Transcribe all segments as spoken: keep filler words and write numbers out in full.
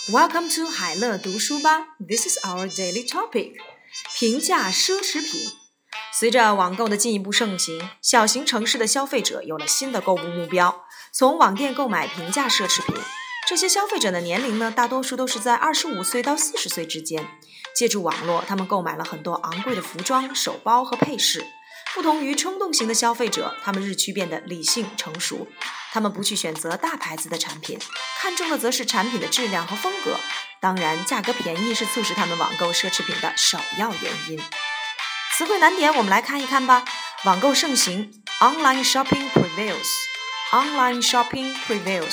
Welcome to 海乐读书吧 This is our daily topic. 平价奢侈品。随着网购的进一步盛行，小型城市的消费者有了新的购物目标，从网店购买平价奢侈品。这些消费者的年龄呢，大多数都是在二十五岁到四十岁之间。借助网络，他们购买了很多昂贵的服装、手包和配饰。不同于冲动型的消费者，他们日趋变得理性成熟。他们不去选择大牌子的产品，看重的则是产品的质量和风格。当然，价格便宜是促使他们网购奢侈品的首要原因。词汇难点我们来看一看吧。网购盛行 ，Online shopping prevails. Online shopping prevails.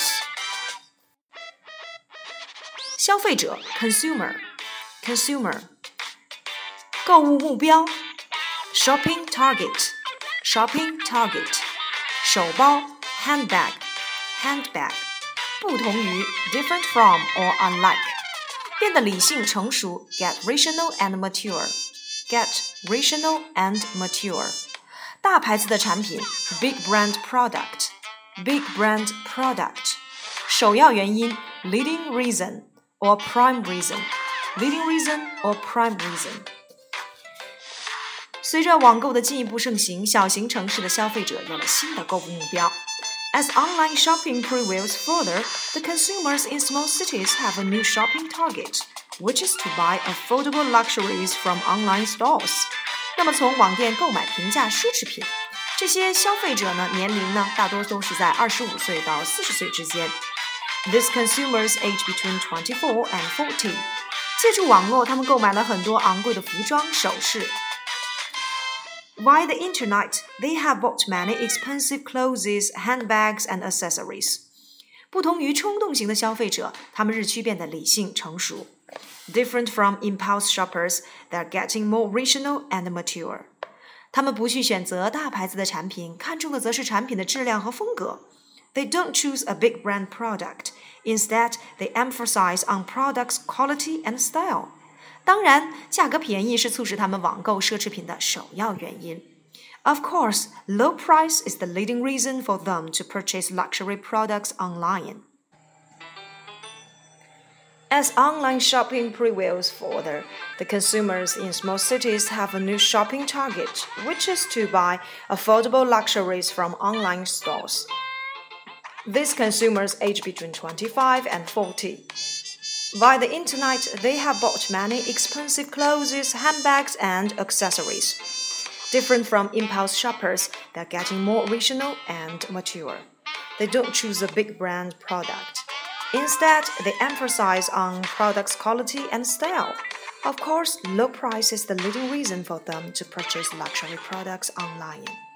消费者 consumer consumer 购物目标 shopping target shopping target 手包 handbag handbag 不同于 different from or unlike 变得理性成熟 get rational and mature get rational and mature 大牌子的产品 big brand product big brand product 首要原因 leading reason or prime reason leading reason or prime reason 随着网购的进一步盛行，小型城市的消费者有了新的购物目标。As online shopping prevails further, the consumers in small cities have a new shopping target, which is to buy affordable luxuries from online stores. 那么从网店购买平价奢侈品，这些消费者呢，年龄呢，大多都是在二十五岁到四十岁之间。These consumers age between twenty-four and forty. 借助网络，他们购买了很多昂贵的服装、首饰。Via the internet, they have bought many expensive clothes, handbags, and accessories. 不同于冲动型的消费者，他们日趋变得理性成熟。Different from impulse shoppers, they are getting more rational and mature. 他们不去选择大牌子的产品，看重的则是产品的质量和风格。They don't choose a big brand product. Instead, they emphasize on products' quality and style. 当然，价格便宜是促使他们网购奢侈品的首要原因。Of course, low price is the leading reason for them to purchase luxury products online. As online shopping prevails further, the consumers in small cities have a new shopping target, which is to buy affordable luxuries from online stores. These consumers age between twenty-five and forty.Via the internet, they have bought many expensive clothes, handbags, and accessories. Different from impulse shoppers, they're getting more rational and mature. They don't choose a big brand product. Instead, they emphasize on products' quality and style. Of course, low price is the leading reason for them to purchase luxury products online.